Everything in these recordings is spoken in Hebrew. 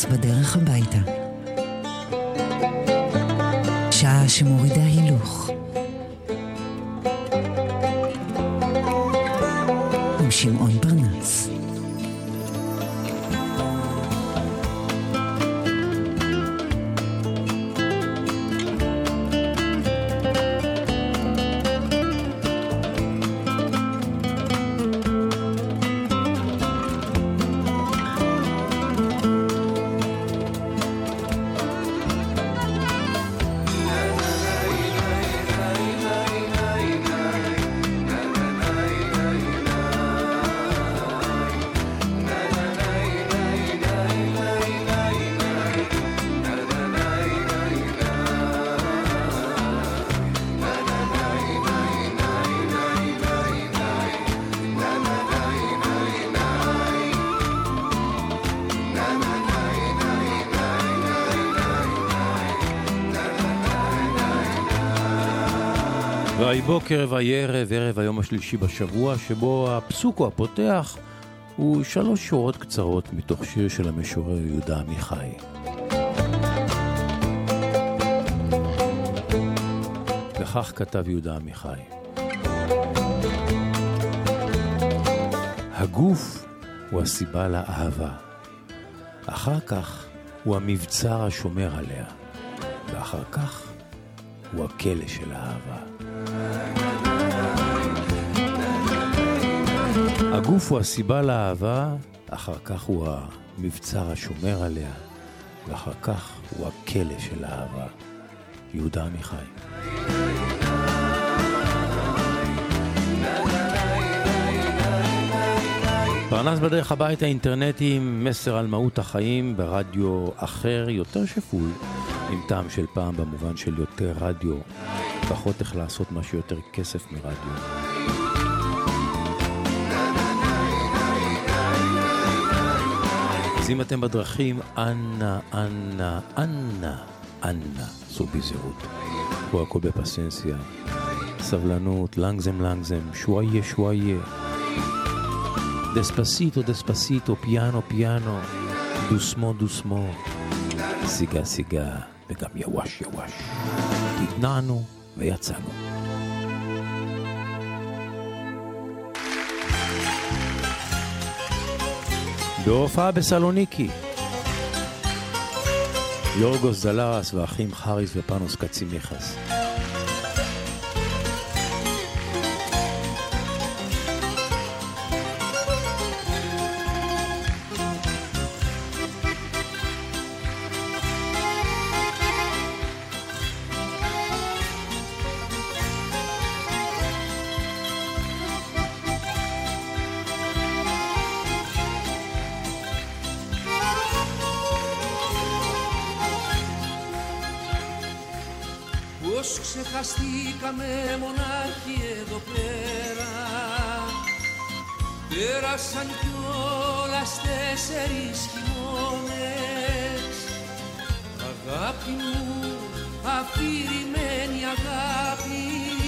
פרנס בדרך הביתה. שעה שמורידה הילוך. עם שמעון פרנס. ויהי בוקר ויהי ערב, ערב היום השלישי בשבוע, שבו הפסוק הפותח הוא 3 שורות קצרות מתוך שיר של המשורר יהודה עמיחי. וכך כתב יהודה עמיחי: הגוף הוא הסיבה לאהבה, אחר כך הוא המבצר השומר עליה, ואחר כך הוא הכלא של האהבה. הגוף הוא הסיבה לאהבה, אחר כך הוא המבצר השומר עליה, ואחר כך הוא הכלא של האהבה. יהודה עמיחי. פרנס בדרך הביתה, אינטרנטי, מסר על מהות החיים ברדיו אחר, יותר שפוי, עם טעם של פעם במובן של יותר רדיו, פחות איך לעשות משהו יותר כסף מרדיו. אז אם אתם בדרכים, אנא, אנא, אנא, אנא, סעו בזהירות. פה הכל בפסנסיה, סבלנות, לנגזם, שוואיה, שוואיה. דספסיטו, דספסיטו, פיאנו, פיאנו, דוסמו, דוסמו, סיגה, סיגה, וגם יווש, יווש. התנענו ויצאנו. בהופעה בסלוניקי, יורגוס דלרס ואחים חריס ופנוס קצימיחס. Ξεχαστήκαμε μονάχοι εδώ πέρα. Πέρασαν κιόλας 4 χειμώνες. Αγάπη μου, αφηρημένη αγάπη,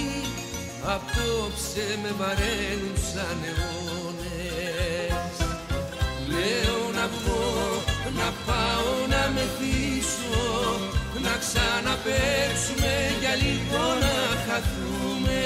απόψε με βαραίνουν σαν αιώνες. Λέω να βγω, να πάω να μεθύσω, να ξαναπαίξουμε για λίγο να χαθούμε.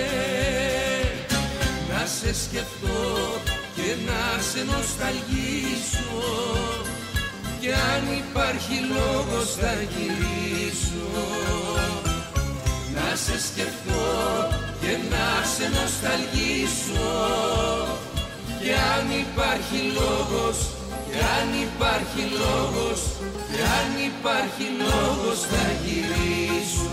Να σε σκεφτώ και να σε νοσταλγήσω, και αν υπάρχει λόγος θα γυρίσω. Να σε σκεφτώ και να σε νοσταλγήσω, και αν υπάρχει λόγος, και αν υπάρχει λόγος, και αν υπάρχει λόγος θα γυρίσω.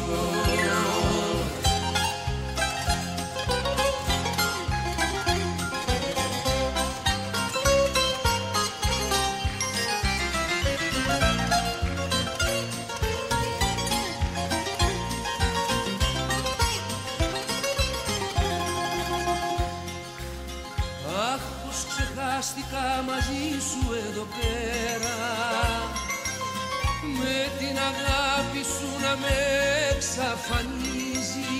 Αχ, πως ξεχάστηκα μαζί σου εδώ πέρα, με την αγάπη σου να με εξαφανίζει.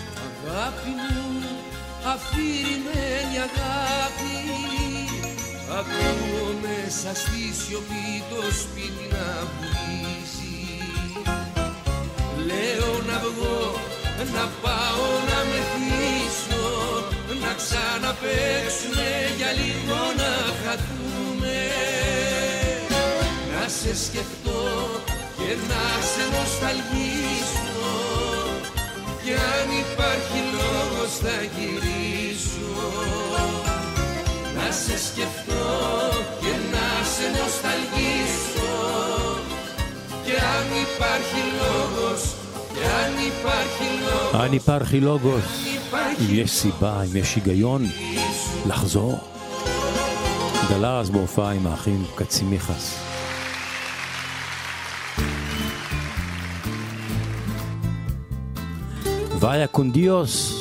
Αγάπη μου, αφηρημένη αγάπη, ακούω μέσα στη σιωπή το σπίτι να βουλίζει. Λέω να βγω, να πάω να μεθύσω, να ξαναπαίξουμε για λίγο να χαθούμε. Να σε σκεφτώ και να σε νοσταλγήσω, κι αν υπάρχει λόγος θα γυρίσω. Να σε σκεφτώ και να σε νοσταλγήσω, κι αν υπάρχει λόγος, κι αν υπάρχει λόγος, αν υπάρχει λόγος, אם יש סיבה, אם יש היגיון לחזור. גדלה אז בהופעה עם האחים קצימיחס. ויה קונדיוס,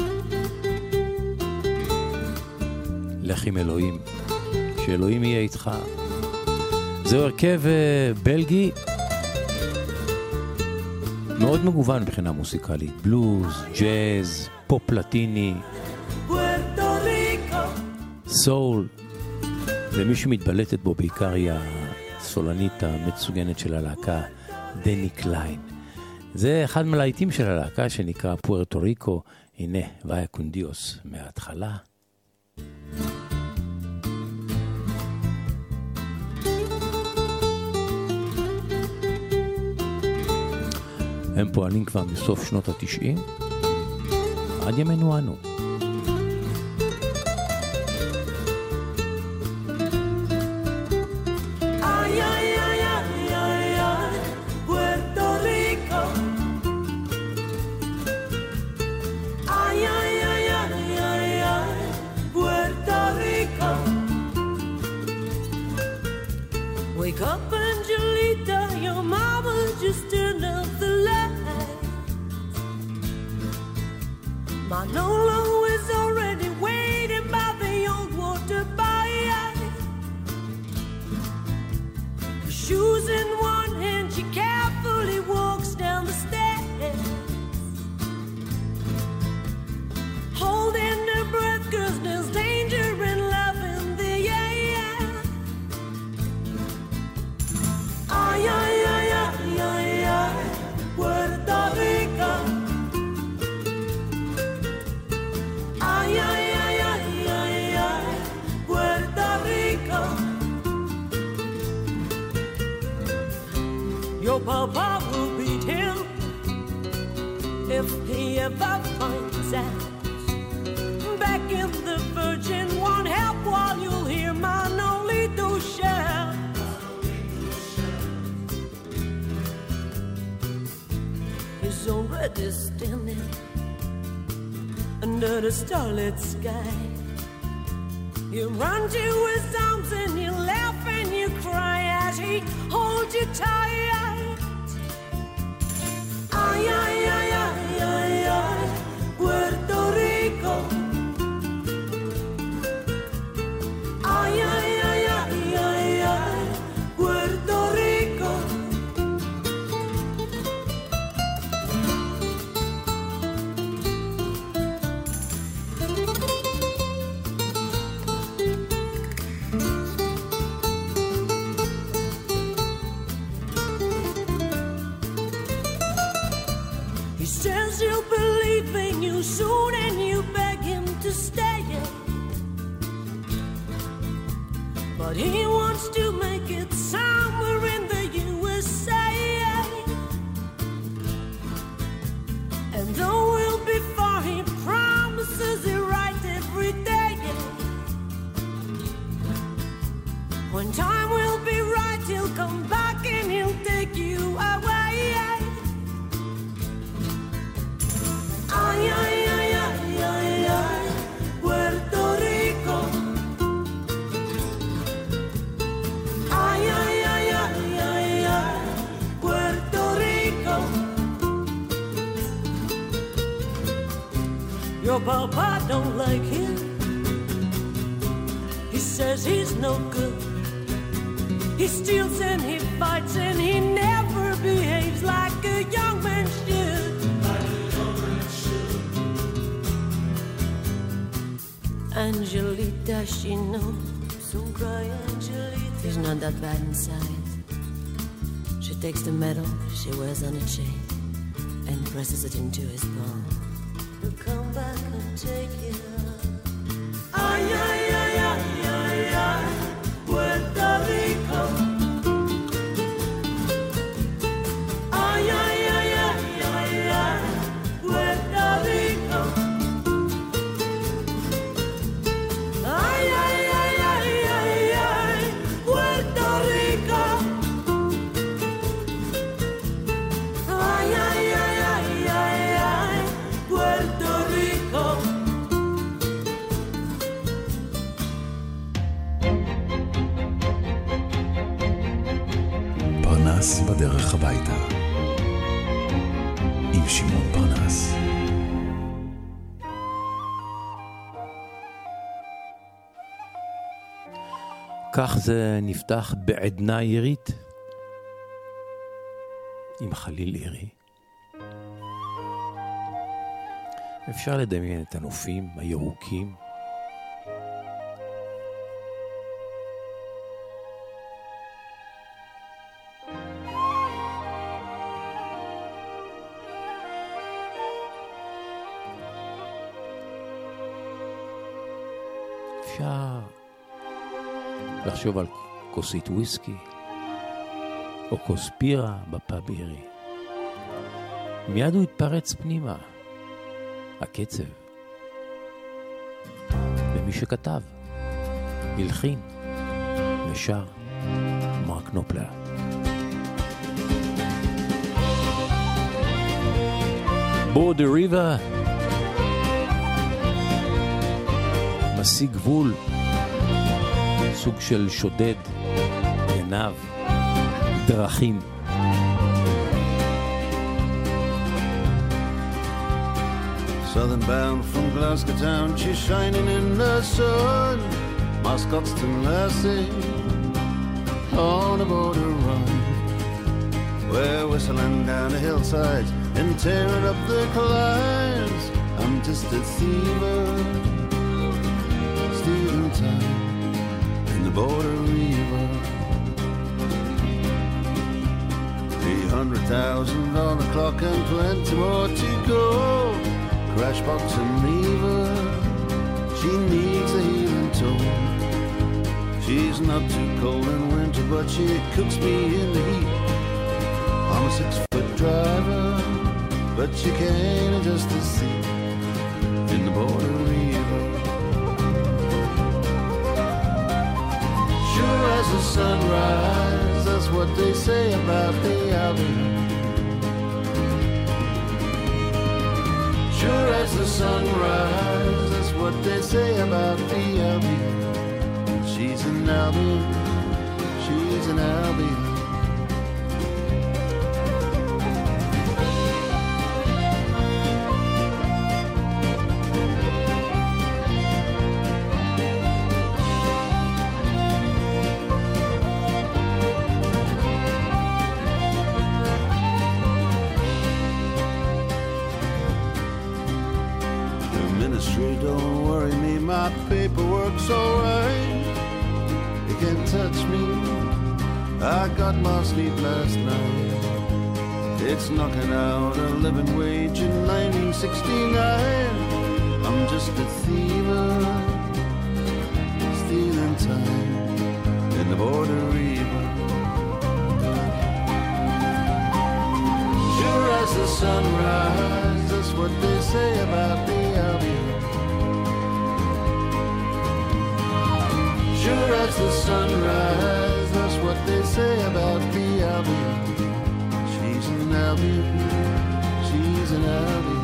לך עם אלוהים, שאלוהים יהיה איתך. זהו הרכב בלגי מאוד מגוון מבחינה מוסיקלית, בלוז, ג'אז, פופ לטיני, סול, ומי שמתבלטת בו בעיקר היא הסולנית המצוגנת של הלהקה, דני קליין. זה אחד מהלהיטים של הלהקה שנקרא פוארטו ריקו. הנה, ויה קונדיוס מההתחלה. הם פועלים כבר מסוף שנות ה-90 עד ימינו אנו. Wake up, Angelita, your mama just turned up the light. Manolo is already waiting by the old water bike. Her shoes in one hand, she carefully walks down the stairs, holding her breath 'cause there's danger in love in the air. Ay, ay, ay, ay, ay, ay, Puerto Rico. Ay, ay, ay, ay, ay, ay, Puerto Rico. Your papa will beat him if he ever finds out. Back in the Virgin won't help while you'll hear Manolito shout. He's already standing under the starlit sky. You run to his arms and you laugh and you cry as he holds you tight. Ay, ay, ay, ay, ay, ay, Puerto Rico. Ay, ay, ay, ay, ay, ay, Puerto Rico. He says he'll believe in you soon and you beg him to stay. But he wants to make it somewhere in the USA. And though we'll be far, he promises it right every day. When time will be right, he'll come back and he'll take you away. Ay, ay, ay, ay, ay, ay, Puerto Rico. Ay, ay, ay, ay, ay, ay, Puerto Rico. Your papa don't like him. He says he's no good. He steals and he fights and he never behaves like a young man should. Angelita, she knows Don't cry, Angelita. He's not that bad inside. She takes the medal she wears on a chain and presses it into his palm. He'll come back and take it up. Ay, ay, ay, ay, ay, ay, Puerto Rico. Ay, ay, ay, ay, ay, ay, Puerto Rico. Ay, ay, ay, ay, ay, ay, Puerto Rico. Ay, ay, ay, ay, ay, ay, Puerto Rico. פרנס בדרך הביתה עם שמעון פרנס. כך זה נפתח בעדנה עירית עם חליל עירי. אפשר לדמיין את הנופים הירוקים, אפשר לחשוב על כוסית וויסקי או כוס בירה בפאב עירי. מיד הוא התפרץ פנימה, הקצב, ומי שכתב, הלחין ושר, מרק נופלר. בורדר ריבר, משיג גבול, סוג של שודד, עיניו, דרכים. Southern bound from Glasgow town, she's shining in the sun. Moscotstown lassie on a border run. We're whistling down the hillsides and tearing up the climbs. I'm just a thiever, stealing time in the border river. $300,000 on the clock and plenty more to go. Crashbox and Reva, she needs a healing tone. She's not too cold in winter, but she cooks me in the heat. I'm a 6-foot driver, but she can't adjust the seat in the border river. Sure as the sunrise, that's what they say about the Albion. Sure as the sunrise, that's what they say about the Albion. She's an Albion, she's an Albion. Don't worry me, my paperwork's alright. You can't touch me, I got my sleep last night. It's knocking out a living wage in 1969. I'm just a thiever, stealing time in the border river. Sure as the sunrise, that's what they say about the Albion. Sure as the sunrise, that's what they say about the Albion. She's an Albion, she's an Albion.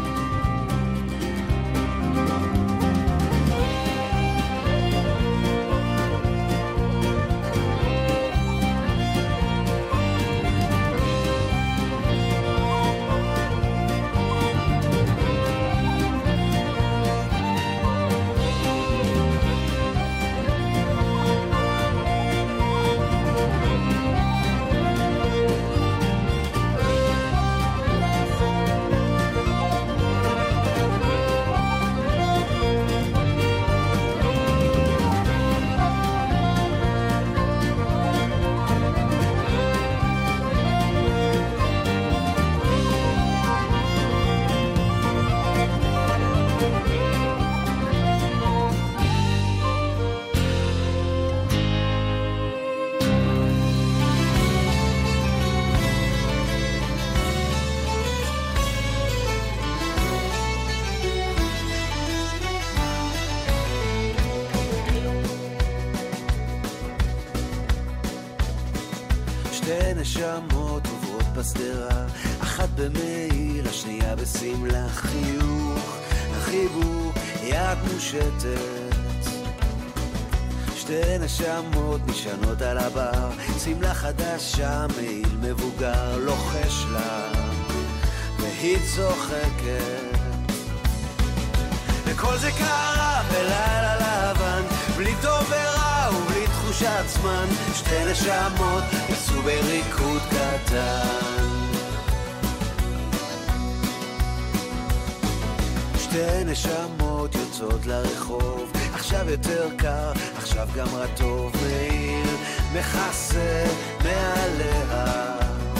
נשמות עוברות בסדרה, אחת במעיל, השנייה בסמלה, חיוך, החיבור, יד מושטת, שתי נשמות נשענות על הבר, סמלה חדשה, מעיל מבוגר, לוחש לה, והיא צוחקת. וכל זה קרה בלילה לבן, בלי טוב ורע ובלי תחושת זמן, שתי נשמות יצאו בריקוד קטן. שתי נשמות יוצאות לרחוב, עכשיו יותר קר, עכשיו גם רטוב, מאיר מכסה מעליה.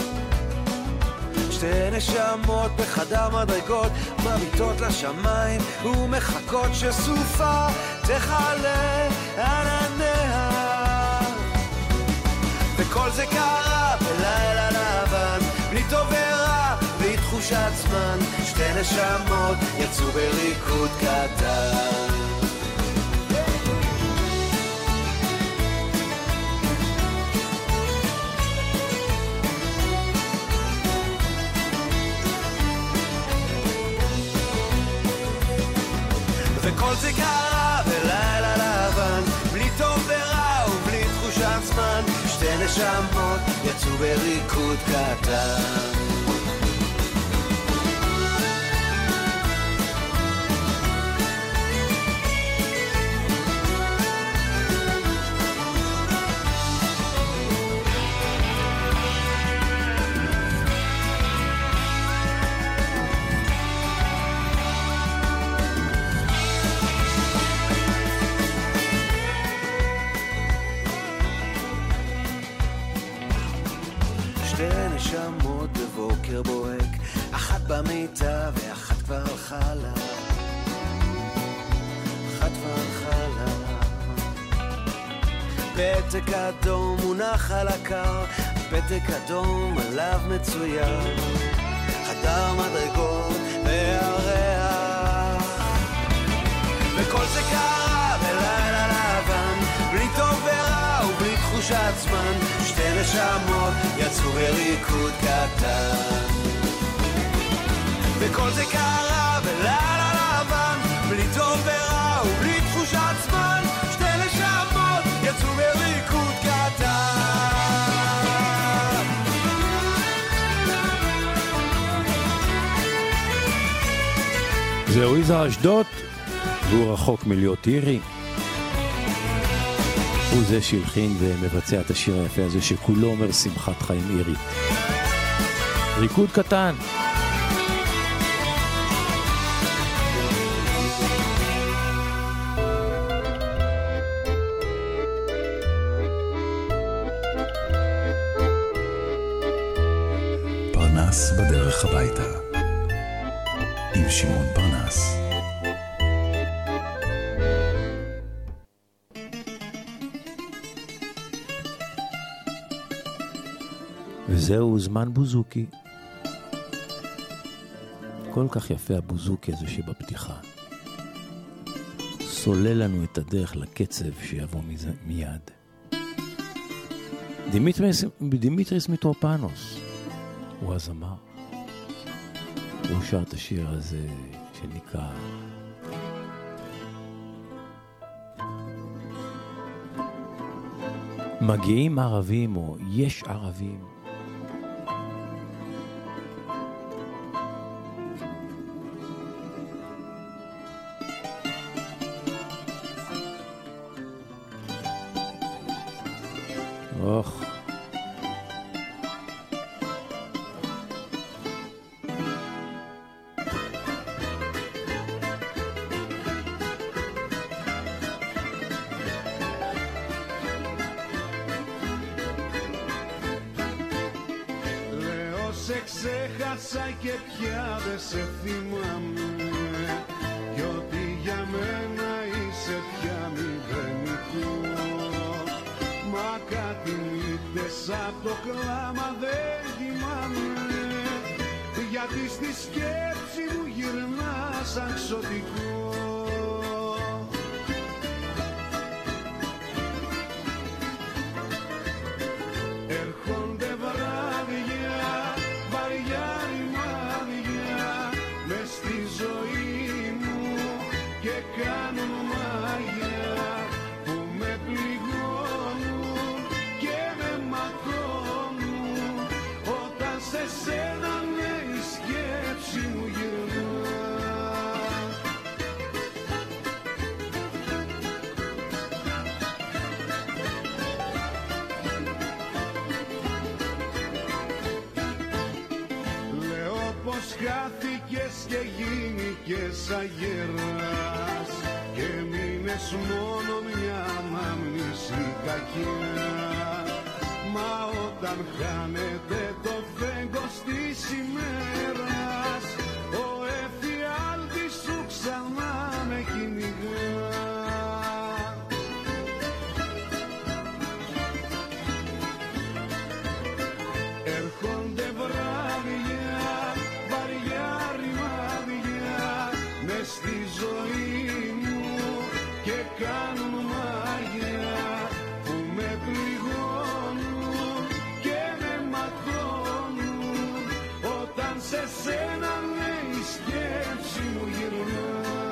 שתי נשמות בחדר מדרגות, מביטות לשמיים ומחכות שסופה תחלה ענניה. וכל זה קרה בלילה לבן, בלי טוב ורע, בלי תחושת זמן, שתי נשמות יצאו בריקוד קטן. וכל זה קרה בלילה לבן, בלי טוב ורע ובלי תחושת זמן, שתי נשמות יצאו בריקוד קטן. נשמות בבוקר בוהק, אחת במיטה ואחת כבר הלכה לה, אחת כבר הלכה לה. פתק אדום מונח על הקר, פתק אדום עליו מצויר, חדר מדרגות והריח. וכל זה קרה בלילה לבן, בלי טוב ורע ובלי תחושת זמן, שתי נשמות יצאו בריקוד קטן. וכל זה קרה בלילה לבן, בלי טוב ורע ובלי תחושת זמן, שתי נשמות יצאו בריקוד קטן. זהו יזהר אשדוד, והוא רחוק מלהיות אירי. הוא זה שהלחין ומבצע את השיר היפה הזה שכולו אומר שמחת חיים אירית. ריקוד קטן. פרנס בדרך הביתה עם שמעון פרנס. וזהו זמן בוזוקי. כל כך יפה הבוזוקי הזה שבפתיחה. סולל לנו את הדרך לקצב שיבוא מיד. דימיטריס מיטרופנוס הוא הזמר. הוא שר את השיר הזה שנקרא מגיעים ערבים או יש ערבים. אוח. Λέω σε ξέχασα και πια δεν σε θυμάμαι, κι ότι για μένα είσαι πια μηδενικό. Μα κάτι νύχτες απ' το κλάμα δεν κοιμάμαι, γιατί στη σκέψη μου γυρνά σαν ξωτικό. Έρχονται βράδια χάθηκες και γίνηκες αγέρας και μείνες μόνο μια μαμνήση κακιά. Μα όταν χάνεται το φέγγος της ημέρας, ο εφιάλτης σου ξανά με κυνηγά. Έρχονται βράδια, βαριά ρημάδια μες στη ζωή μου και κάνουν μάγια που με πληγώνουν και με ματώνουν. Όταν σε σένα ναι η σκέψη μου γυρνά.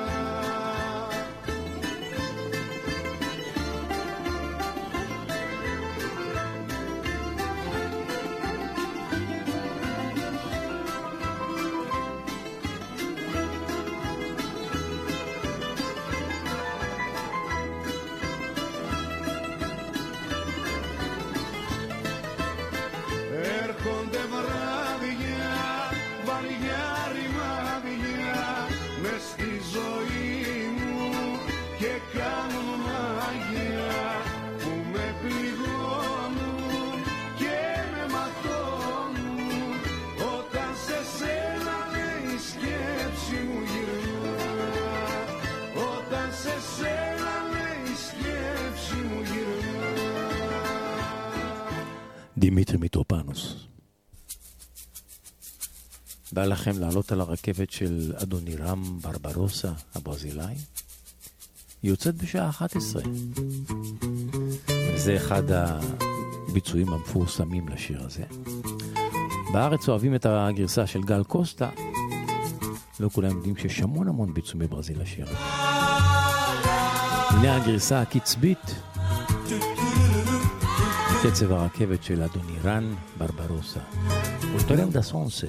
Έρχονται βράδια, βαριά ρημάδια μες στη ζωή μου και κάνουν μάγια που με πληγώνουν και με ματώνουν. Όταν σε σένα λέει η σκέψη μου γυρνά. Όταν σε σένα λέει η σκέψη μου γυρνά. דימיטרי מיטרופנוס. בא לכם לעלות על הרכבת של אדונירם ברברוסה הברזילאי? היא יוצאת בשעה 11. וזה אחד הביצועים המפורסמים לשיר הזה. בארץ אוהבים את הגרסה של גל קוסטה. לא כולם יודעים שיש המון ביצועים בברזיל לשיר הזה. הנה הגרסה הקצבית. קצב הרכבת של אדונירם ברברוסה. אולטורם דה סונסה.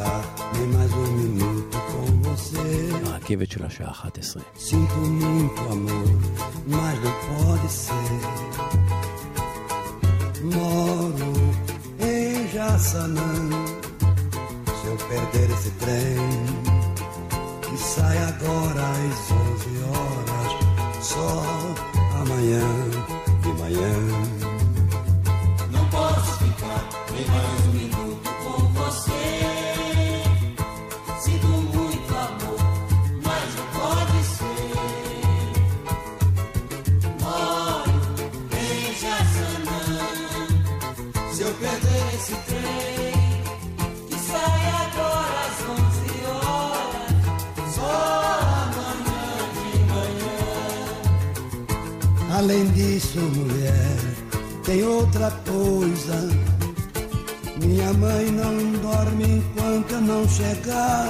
הרכבת של השעה 11. Sinto muito amor, mas não pode ser. Moro em Jaçanã. Se eu perder esse trem que sai agora às 11 horas, só amanhã de manhã. Posso ficar nem mais um minuto com você. Sinto muito amor, mas não pode ser. Moro em Jaçanã. Se eu perder esse trem que sai agora às 11 horas, só amanhã de manhã. Além disso, mulher, tem outra coisa. Minha mãe não dorme enquanto eu não chegar.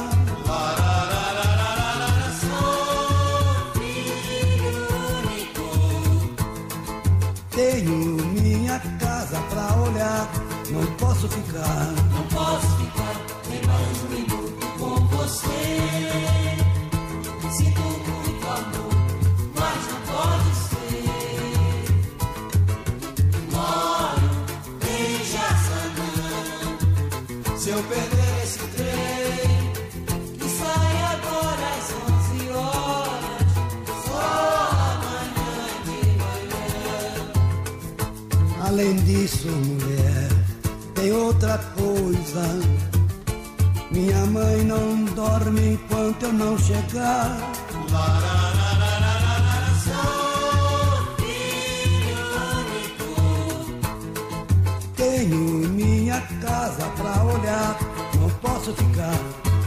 Sou filho único. Tenho minha casa pra olhar. Não posso ficar. Não posso ficar nem mais um minuto com você. Sinto muito amor, mas não pode ser. Moro em Jaçanã. Se eu perder esse trem que sai agora às 11 horas, só amanhã de manhã. Além disso, mulher, tem outra coisa. Minha mãe não dorme enquanto eu não chegar. Sou filho único. Tenho minha casa pra olhar. Não posso ficar.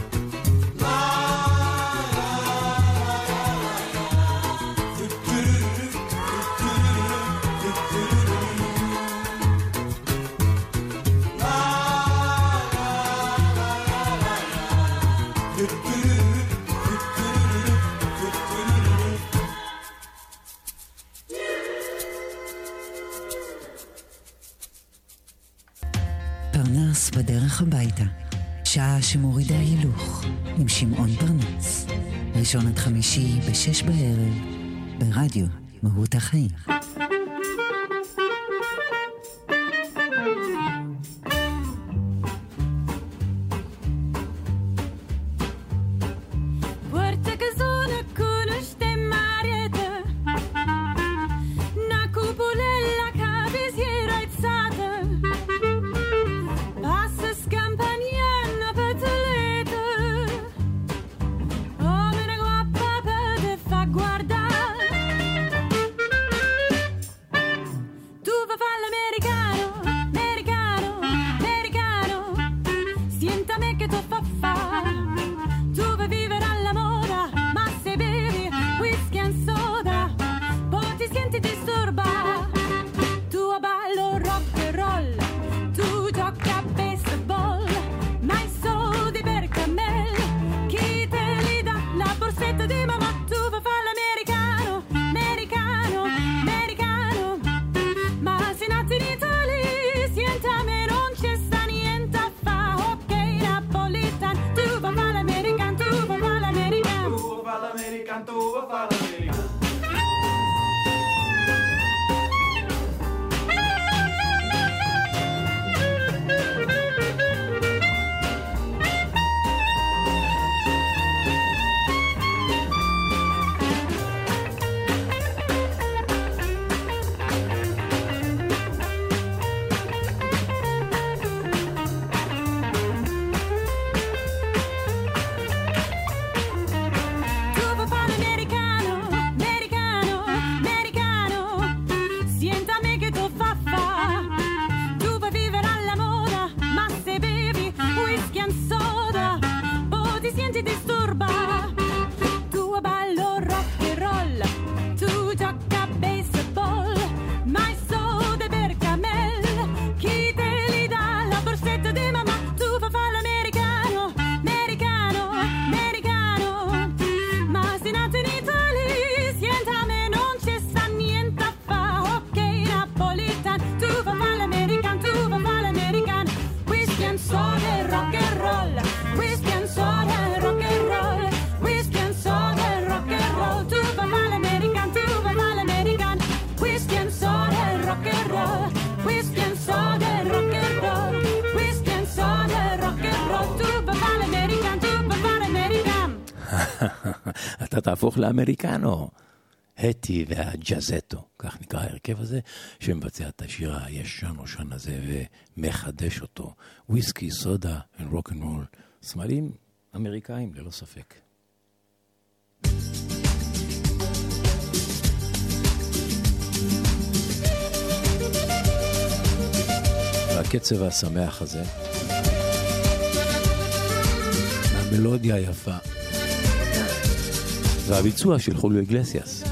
פרנס בדרך הביתה, שעה שמורידה הילוך, עם שמעון פרנס. ראשון עד חמישי ב-6 בערב, ברדיו מהות החיים. che tu fa fa. Tu vuoi vivere alla moda, ma se bevi whisky and soda, poi ti senti disturba. Tu ballo rock and roll, tu gioca a baseball, ma i soldi per Camel, chi te li dà? La borsetta di mamma. Tu vuoi fare l'americano, americano, americano, ma se nati in Italia, sienta me non c'è sta niente a fa. Ok, Napolitan, tu vuoi fare l'americano, tu vuoi fare l'americano, tu vuoi fare l'americano, tu vuoi fare l'americano. אתה תהפוך לאמריקנו. הטי והג'זטו, כך נקרא ההרכב הזה, שמבצע את השיר הישן הזה ומחדש אותו. וויסקי, סודה ורוק אנד רול. סמלים אמריקאים ללא ספק. והקצב השמח הזה, המלודיה היפה, והביצוע של חוליו איגלסיאס.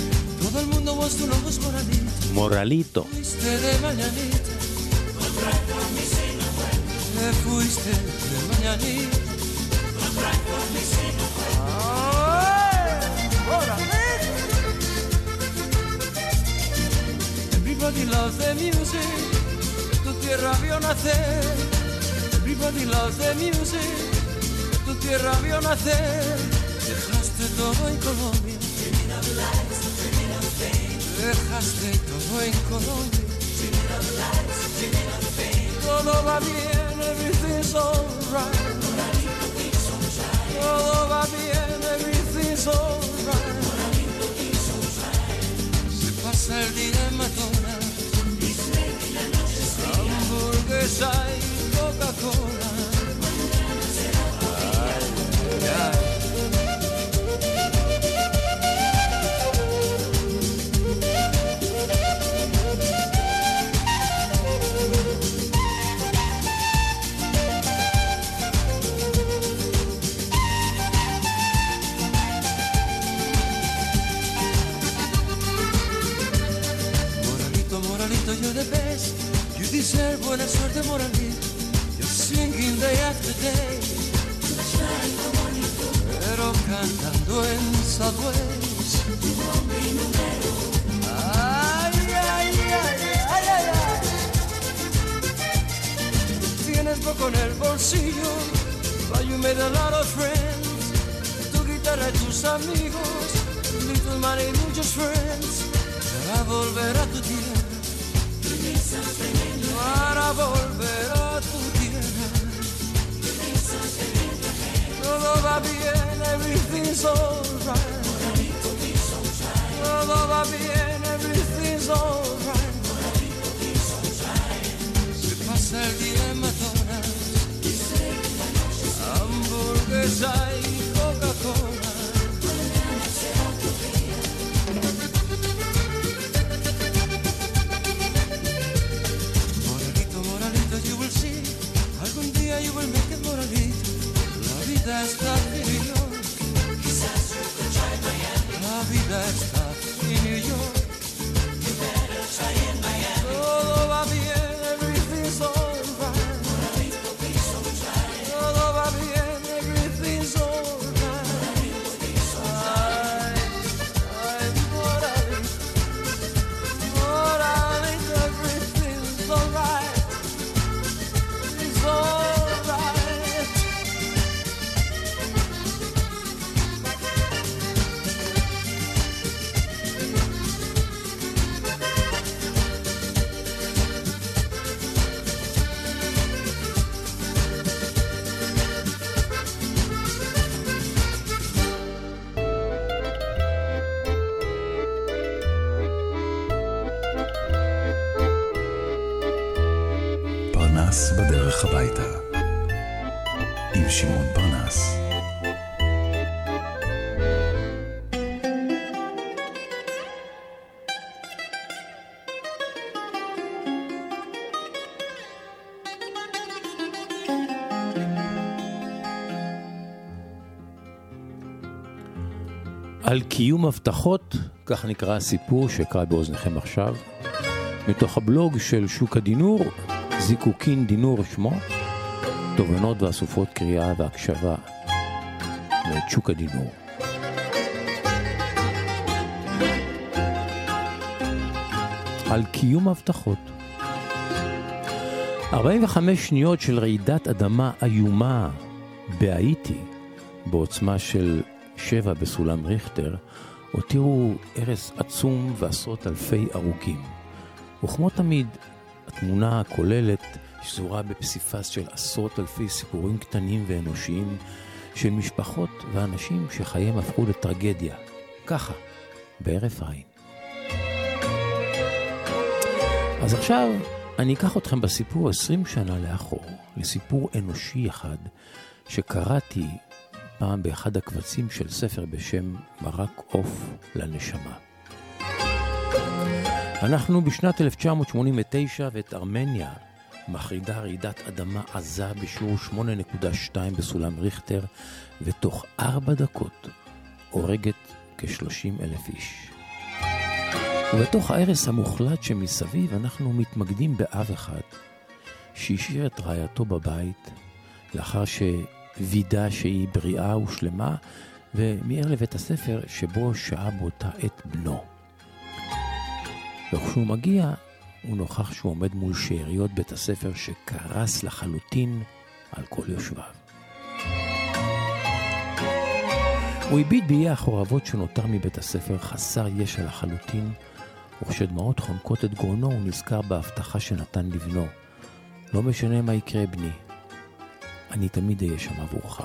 מורליטו. Everybody loves the music, tu tierra vio nacer. Everybody loves the music, tu tierra vio nacer. Dejaste todo en Colombia, dejaste todo en Colombia. Todo va bien, everything's alright. Todo va bien, everything's alright. Se pasa el día en McDonald's, hamburguesa y Coca-Cola. Ay, ay. You're the best, you deserve buena suerte, Moralito. You're singing day after day, pero cantando en subways. Ay, ay, ay, ay, ay, ay. Tienes poco en el bolsillo, but you made a lot of friends. Tu guitarra y tus amigos, little money, muchos friends. Para volver a tu tierra, para volver a tu tierra. Todo va bien, everything's alright. Todo va bien, everything's alright. Se pasa el día en McDonald's, hamburguesa y Coca-Cola. You will make it, Moralito. vida está en New York. Quizás you could try Miami. La vida está en New York. You better try in Miami. Todo va bien, everything's alright. Moralito, please don't try. Todo va bien, everything's alright. Moralito, please don't try. Moralito, everything's alright. It's alright. פרנס בדרך הביתה עם שמעון פרנס. על קיום הבטחות, כך נקרא הסיפור שקרא באוזניכם עכשיו, מתוך הבלוג של שוק הדינור, זיקוקין דינור שמו, תובנות ואסופות קריאה והקשבה ואת שוק הדינור. על קיום הבטחות. 45 שניות של רעידת אדמה איומה בהאיטי, בעוצמה של 7 בסולם ריכטר, הותירו הרס עצום ועשרות אלפי הרוגים. וכמו תמיד, התמונה הכוללת שזורה בפסיפס של עשרות אלפי סיפורים קטנים ואנושיים של משפחות ואנשים שחייהם הפכו לטרגדיה. ככה, בערף עין. אז עכשיו אני אקח אתכם בסיפור 20 שנה לאחור, לסיפור אנושי אחד שקראתי פעם באחד הקבצים של ספר בשם מרק עוף לנשמה. אנחנו בשנת 1989 ואת ארמניה מחרידה רעידת אדמה עזה בשיעור 8.2 בסולם ריכטר, ותוך 4 דקות הורגת כ-30,000 איש. ובתוך ההרס המוחלט שמסביב אנחנו מתמקדים באב אחד שהשאיר את רעייתו בבית לאחר שווידה שהיא בריאה ושלמה, ומיהר לבית הספר שבו שעה באותה עת בנו. וכשהוא מגיע הוא נוכח שהוא עומד מול שאריות בית הספר שקרס לחלוטין על כל יושביו. הוא הביט באי החורבות שנותר מבית הספר חסר ישע לחלוטין, וכשדמעות חונקות את גרונו הוא נזכר בהבטחה שנתן לבנו. לא משנה מה יקרה בני, אני תמיד אהיה שם עבורך.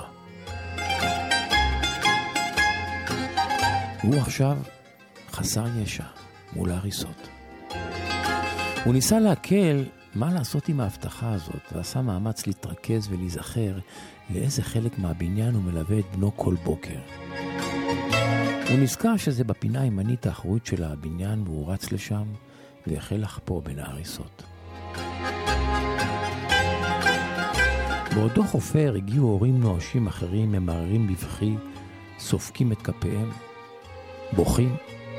הוא עכשיו חסר ישע מול ההריסות. הוא ניסה להקל מה לעשות עם ההבטחה הזאת, ועשה מאמץ להתרכז ולהיזכר לאיזה חלק מהבניין הוא מלווה את בנו כל בוקר. הוא נזכר שזה בפינה הימנית האחורית של הבניין, והוא רץ לשם והחל לחפור בין ההריסות. בעודו חופר הגיעו הורים נואשים אחרים, ממררים בבכי, סופקים את כפיהם, בוכים.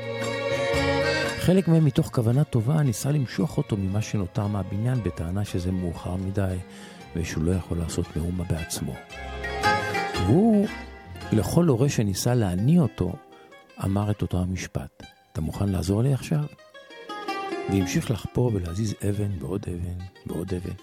חלק מהם מתוך כוונה טובה ניסה למשוך אותו ממה שנותר מהבניין בטענה שזה מאוחר מדי ושהוא לא יכול לעשות מאומה בעצמו. והוא, לכל הורה שניסה להניע אותו, אמר את אותו המשפט: אתה מוכן לעזור לי עכשיו? והמשיך לחפור ולהזיז אבן בעוד אבן בעוד אבן.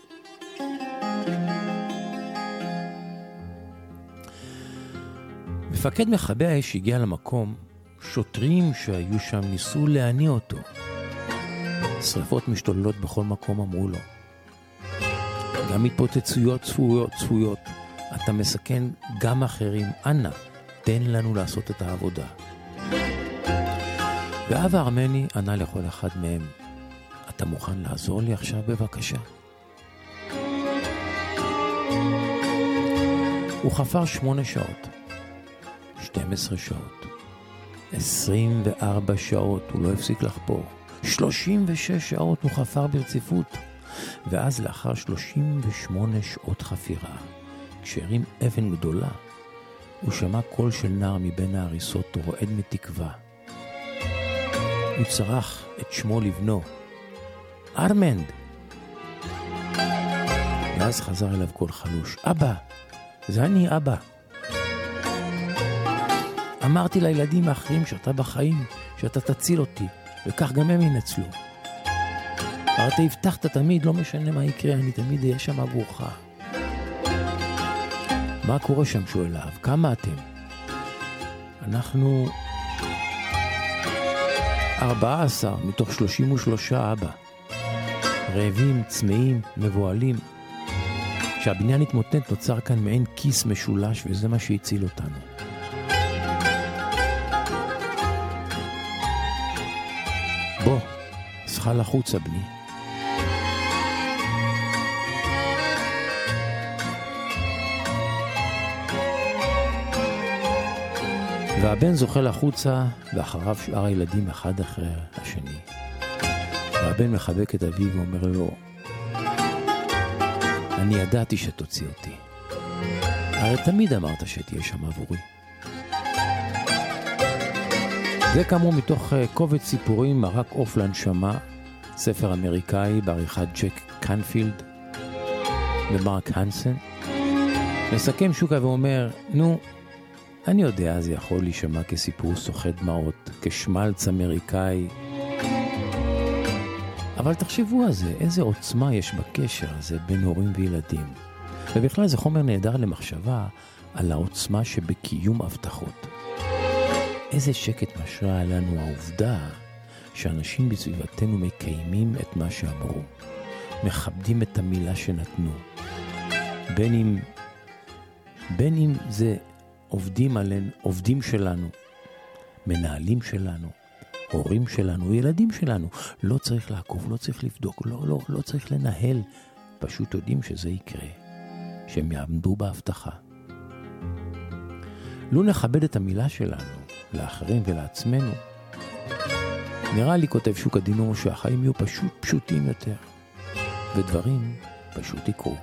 מפקד מכבי האש הגיע למקום. שוטרים שהיו שם ניסו להניע אותו. שריפות משתוללות בכל מקום, אמרו לו. גם התפוצצויות צפויות. אתה מסכן גם אחרים. אנא, תן לנו לעשות את העבודה. ואב הארמני ענה לכל אחד מהם, אתה מוכן לעזור לי עכשיו בבקשה? הוא חפר 8 שעות, 12 שעות, 24 שעות הוא לא הפסיק לחפור, 36 שעות הוא חפר ברציפות, ואז לאחר 38 שעות חפירה, כשהרים אבן גדולה, הוא שמע קול של נער מבין ההריסות רועד מתקווה. הוא צרח את שמו לבנו, ארמנד. ואז חזר אליו קול חלוש, אבא, זה אני אבא. אמרתי לילדים האחרים שאתה בחיים, שאתה תציל אותי, וכך גם הם ינצלו. אבל אתה הבטחת תמיד, לא משנה מה יקרה, אני תמיד אהיה שם עבורך. מה קורה שם? שואל אב, כמה אתם? אנחנו 14 מתוך 33 אבא. רעבים, צמאים, מבועלים. כשהבניין התמוטט נוצר כאן מעין כיס משולש, וזה מה שהציל אותנו. בוא, שחל החוצה בני. והבן זוחל החוצה, ואחריו שאר הילדים אחד אחרי השני. והבן מחבק את אביו ואומר לו, אני ידעתי שתוציא אותי. הרי תמיד אמרת שתהיה שם עבורי. זה כאמור מתוך קובץ סיפורים מרק עוף לנשמה, ספר אמריקאי בעריכת ג'ק קנפילד ומרק הנסן. מסכם שוקה ואומר, נו, אני יודע, זה יכול להישמע כסיפור סוחט דמעות, כשמלץ אמריקאי. אבל תחשבו על זה, איזה עוצמה יש בקשר הזה בין הורים וילדים. ובכלל זה חומר נהדר למחשבה על העוצמה שבקיום הבטחות. איזה שקט משרה לנו העובדה שאנשים בסביבתנו מקיימים את מה שאמרו, מכבדים את המילה שנתנו. בין אם זה עובדים שלנו, מנהלים שלנו, הורים שלנו, ילדים שלנו. לא צריך לעקוב, לא צריך לבדוק, לא צריך לנהל. פשוט יודעים שזה יקרה, שהם יעמדו בהבטחה. לא נכבד את המילה שלנו, לאחרים ולעצמנו. נראה לי, כותב שוקה דינור, שהחיים יהיו פשוטים יותר, ודברים פשוט יקרו.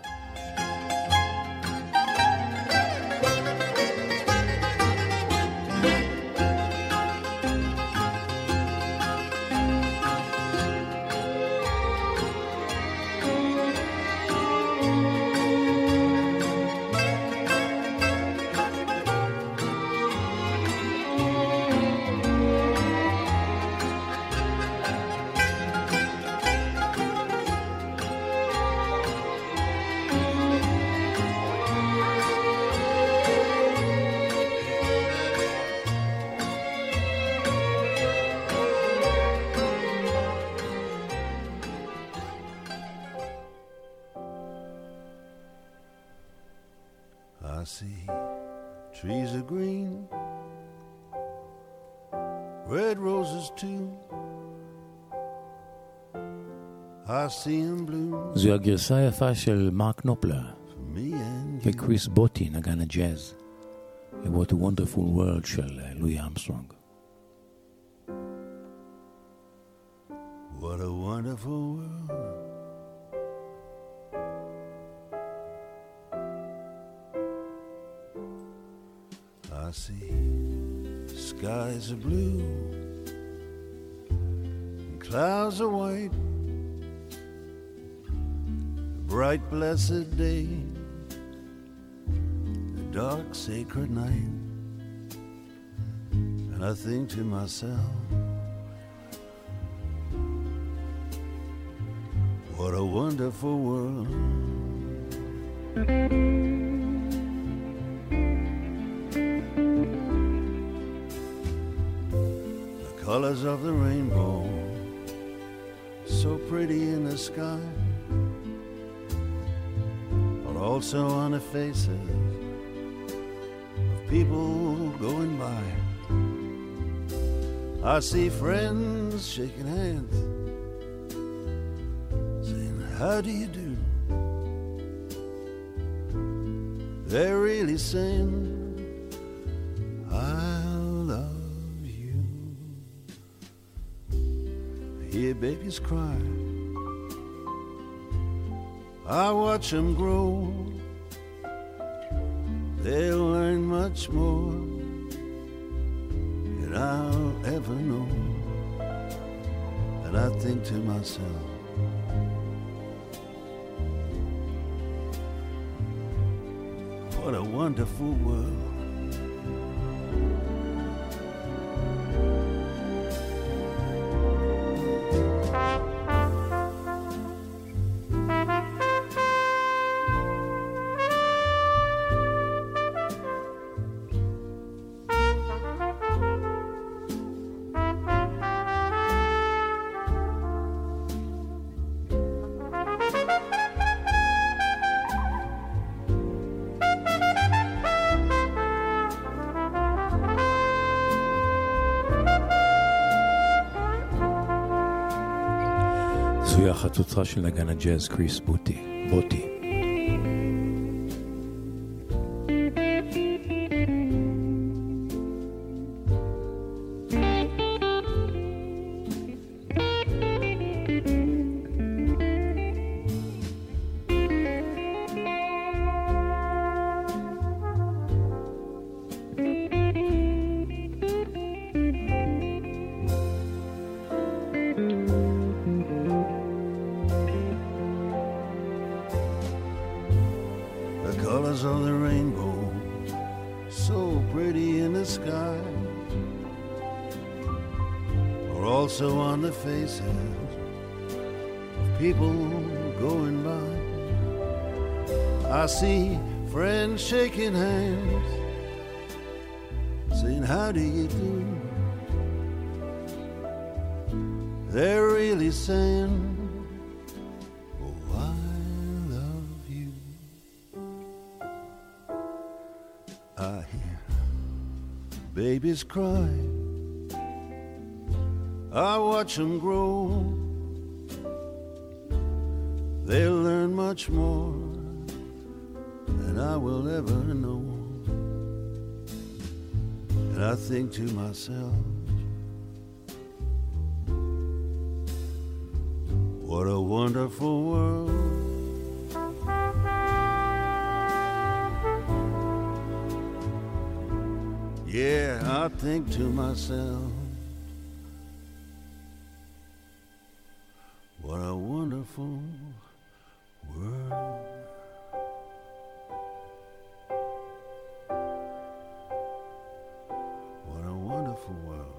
I see trees are green, red roses too. I see them blue. זו הגרסה היפה של מרק נופלר וקריס בוטי, נגן הג'אז, ל-What a Wonderful World של לואי ארמסטרונג. What a wonderful world. I see skies are blue and clouds are white, a bright blessed day, a dark sacred night, and I think to myself, what a wonderful world. Colors of the rainbow, so pretty in the sky, but also on the faces of people going by. I see friends shaking hands, saying, how do you do? They're really saying, hear babies cry, I watch them grow, they'll learn find much more than I'll ever know. And I think to myself, what a wonderful world. זוהי החצוצרה של נגן הג'אז קריס בוטי. People going by, I see friends shaking hands, saying how do you do. They're really saying, oh, I love you. I hear babies cry, I watch them grow. They'll learn much more than I will ever know. And I think to myself, what a wonderful world. Yeah, I think to myself, what a wonderful world. What a wonderful world.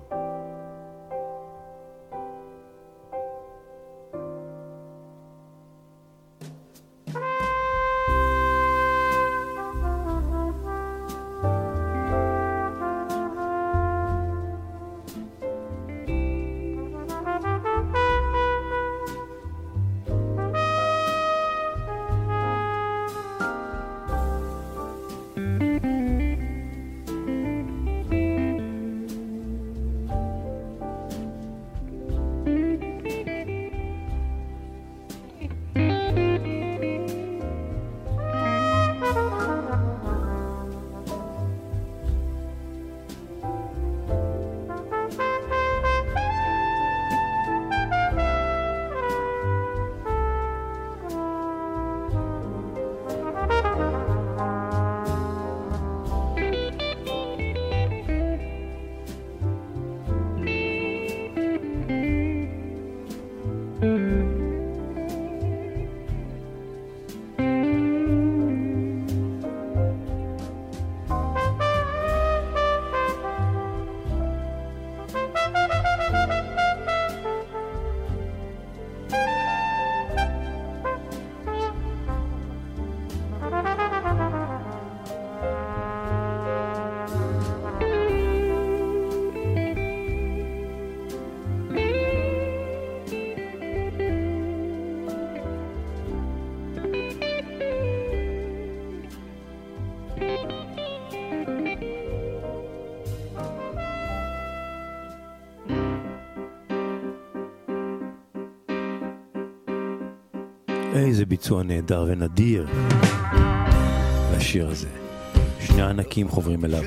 איזה ביצוע נהדר ונדיר לשיר הזה. שני ענקים חוברים אליו.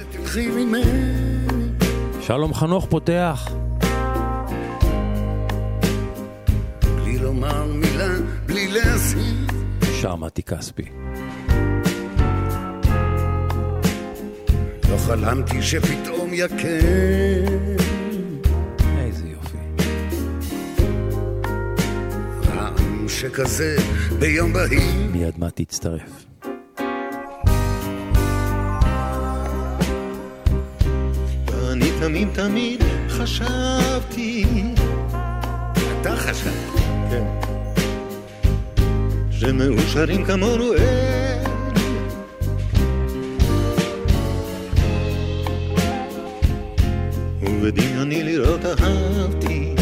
שלום חנוך פותח. בלי לומר מילה, בלי להזהיר. שר מתי כספי. חלמתי שפתאום יקם. איזה יופי. רעם שכזה ביום בהיר. מיד מה תצטרף. אני תמיד תמיד חשבתי, אתה חשבת? כן, שמאושרים כמונו אין, ובדמיוני לראות אהבתי,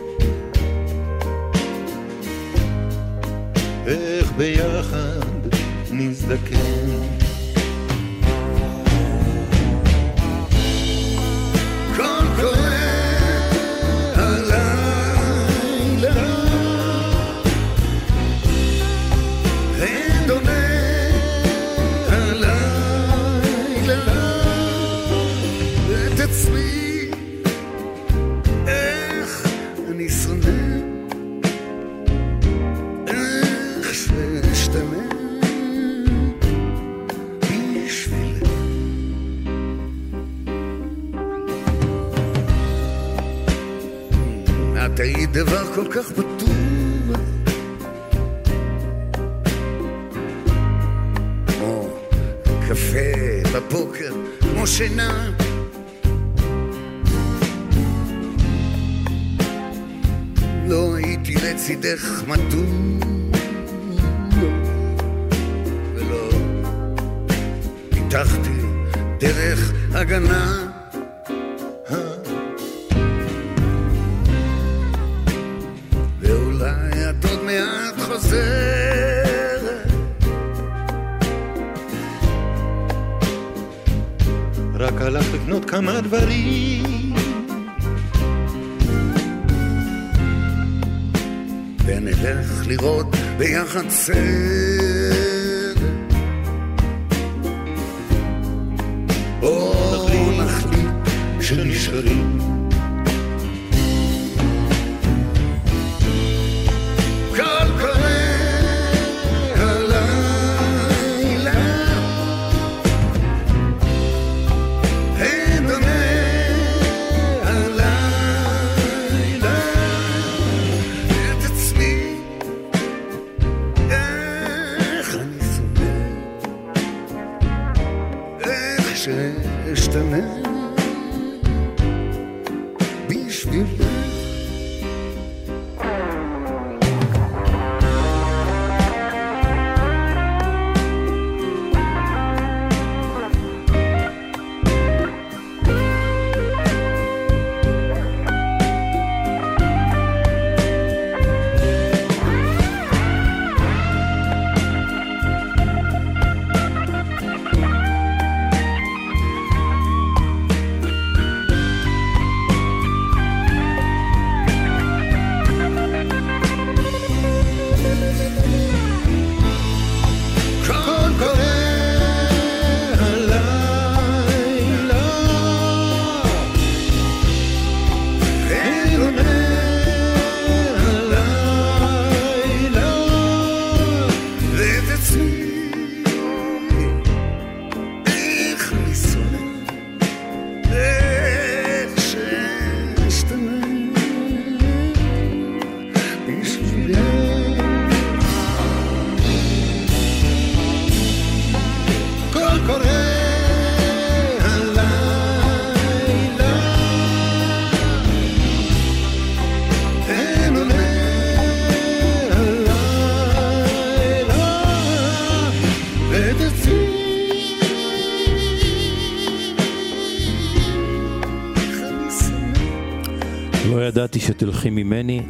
איך ביחד נזדקן. תהי דבר כל כך בטוח, כמו קפה בבוקר, כמו שינה. לא הייתי לצידך מתון, ולא פיתחתי דרך הגנה. רק הלך לקנות כמה דברים, ונלך לראות ביחד סרט, או נחליט שנשארים. ידעתי שתלכי ממני,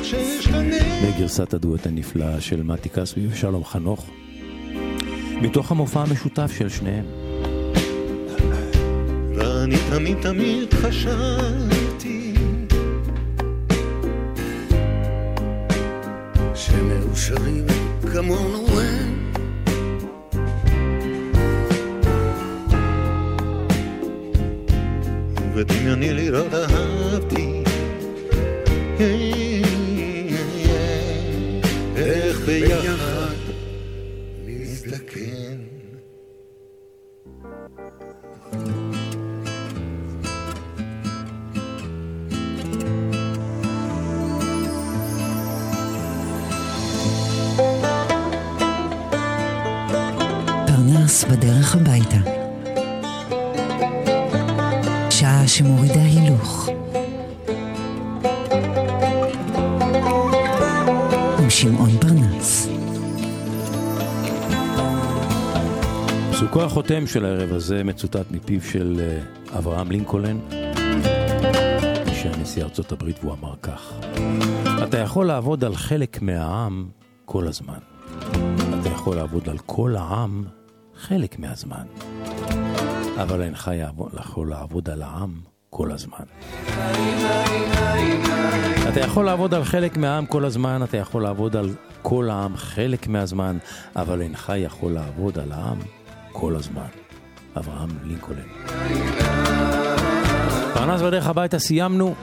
בגרסת הדואט הנפלאה של מתי כספי ושלום חנוך, מתוך המופע המשותף של שניהם. ואני תמיד תמיד חשבתי שמאושרים כמונו הם, ודמיוני לראות אהבתי, איך ביחד נזדקן. בדרך הביתה. שעה שמורידה הילוך. עם שמעון פרנס. פסוקו החותם של הערב הזה מצוטט מפיו של אברהם לינקולן, נשיא ארצות הברית, והוא אמר כך: אתה יכול לעבוד על חלק מהעם כל הזמן. אתה יכול לעבוד על כל העם חלק מהזמן. אבל אינך יכול לעבוד על העם כל הזמן. אתה יכול לעבוד על חלק מהעם כל הזמן, אתה יכול לעבוד על כל העם חלק מהזמן, אבל אינך יכול לעבוד על העם כל הזמן. אברהם לינקולן. פרנס בדרך הביתה, סיימנו.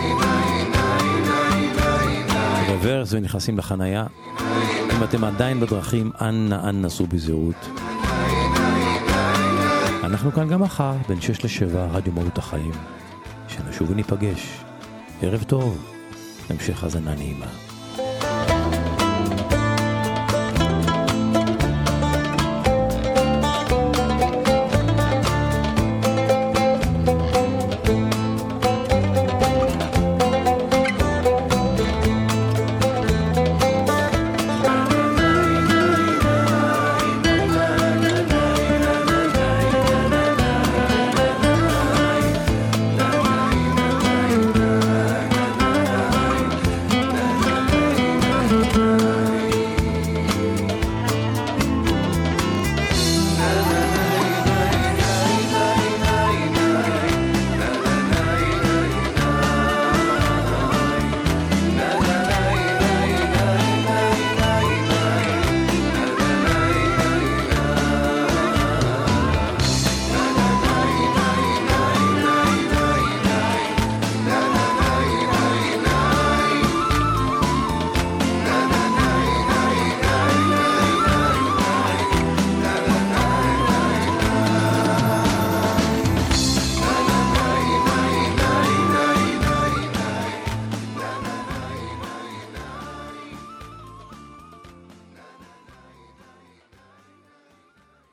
רוורס ונכנסים לחנייה. אם אתם עדיין בדרכים, אנא נסו בזהירות. אנחנו כאן גם מחר, בין 6 ל-7, רדיו מהות החיים. שנשוב וניפגש. ערב טוב, המשך הזנה נעימה.